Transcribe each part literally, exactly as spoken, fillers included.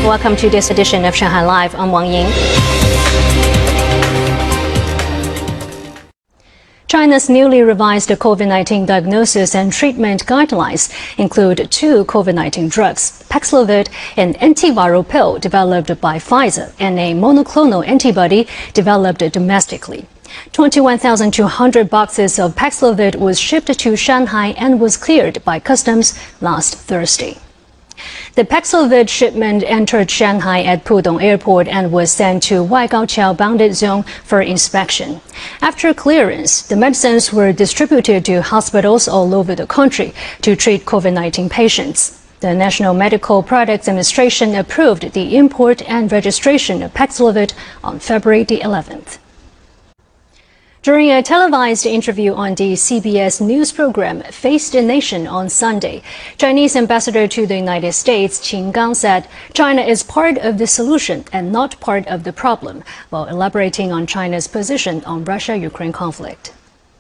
Welcome to this edition of Shanghai Live. I'm Wang Ying. China's newly revised COVID nineteen diagnosis and treatment guidelines include two COVID nineteen drugs, Paxlovid, an antiviral pill developed by Pfizer, and a monoclonal antibody developed domestically. twenty-one thousand two hundred boxes of Paxlovid was shipped to Shanghai and was cleared by customs last Thursday. The Paxlovid shipment entered Shanghai at Pudong Airport and was sent to Waigaoqiao bounded zone for inspection. After clearance, the medicines were distributed to hospitals all over the country to treat COVID nineteen patients. The National Medical Products Administration approved the import and registration of Paxlovid on February the eleventh. During a televised interview on the C B S news program Face the Nation on Sunday, Chinese ambassador to the United States Qin Gang said China is part of the solution and not part of the problem, while elaborating on China's position on Russia-Ukraine conflict.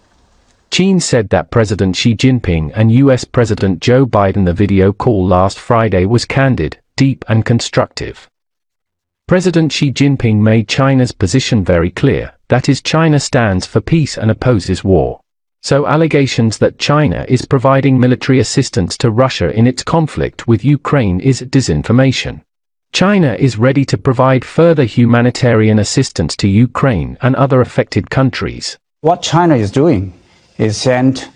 Qin said that President Xi Jinping and U S President Joe Biden the video call last Friday was candid, deep and constructive. President Xi Jinping made China's position very clear, that is, China stands for peace and opposes war. So allegations that China is providing military assistance to Russia in its conflict with Ukraine is disinformation. China is ready to provide further humanitarian assistance to Ukraine and other affected countries. What China is doing is send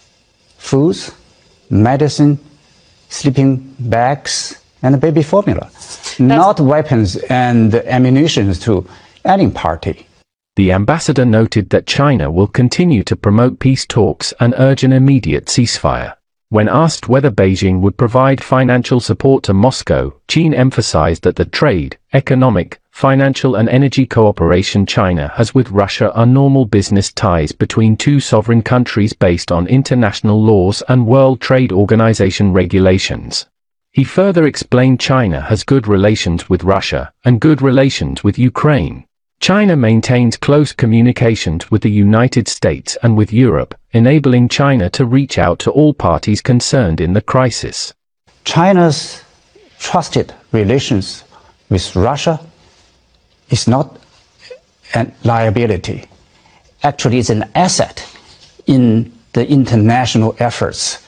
foods, medicine, sleeping bags, and baby formula, not weapons and ammunition to any party. The ambassador noted that China will continue to promote peace talks and urge an immediate ceasefire. When asked whether Beijing would provide financial support to Moscow, Qin emphasized that the trade, economic, financial and energy cooperation China has with Russia are normal business ties between two sovereign countries based on international laws and World Trade Organization regulations. He further explained China has good relations with Russia and good relations with Ukraine. China maintains close communications with the United States and with Europe, enabling China to reach out to all parties concerned in the crisis. China's trusted relations with Russia is not a liability. Actually, it's an asset in the international efforts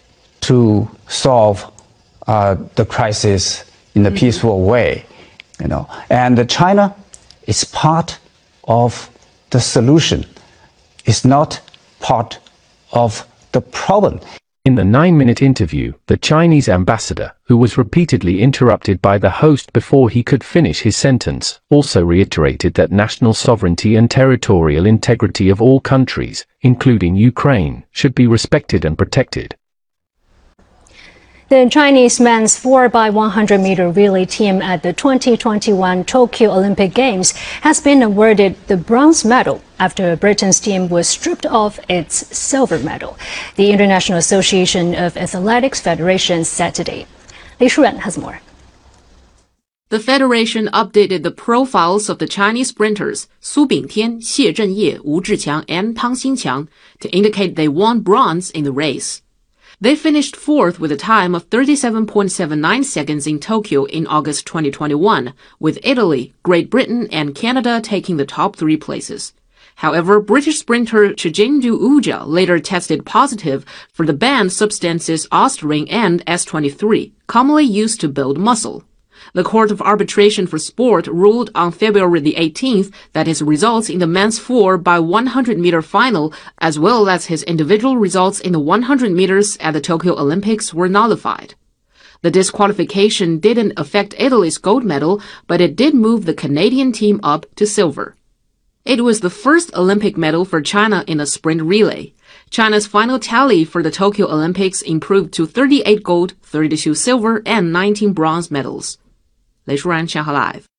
to solve uh, the crisis in a mm-hmm. peaceful way. You know, and China is part of the solution. It's not part of the problem. In the nine-minute interview, the Chinese ambassador, who was repeatedly interrupted by the host before he could finish his sentence, also reiterated that national sovereignty and territorial integrity of all countries, including Ukraine, should be respected and protected. The Chinese men's four by one hundred meter relay team at the twenty twenty-one Tokyo Olympic Games has been awarded the bronze medal after Britain's team was stripped of its silver medal, the International Association of Athletics Federation said today. Li Shuren has more. The federation updated the profiles of the Chinese sprinters Su Bingtian, Xie Zhenye, Wu Zhiqiang, and Tang Xinqiang to indicate they won bronze in the race. They finished fourth with a time of thirty-seven point seven nine seconds in Tokyo in August twenty twenty-one, with Italy, Great Britain, and Canada taking the top three places. However, British sprinter Chijindu Uja later tested positive for the banned substances Ostarine and S twenty-three, commonly used to build muscle. The Court of Arbitration for Sport ruled on February the eighteenth that his results in the men's four by one hundred meter final, as well as his individual results in the one hundred meters at the Tokyo Olympics, were nullified. The disqualification didn't affect Italy's gold medal, but it did move the Canadian team up to silver. It was the first Olympic medal for China in a sprint relay. China's final tally for the Tokyo Olympics improved to thirty-eight gold, thirty-two silver, and nineteen bronze medals. 雷淑然，上海 Live。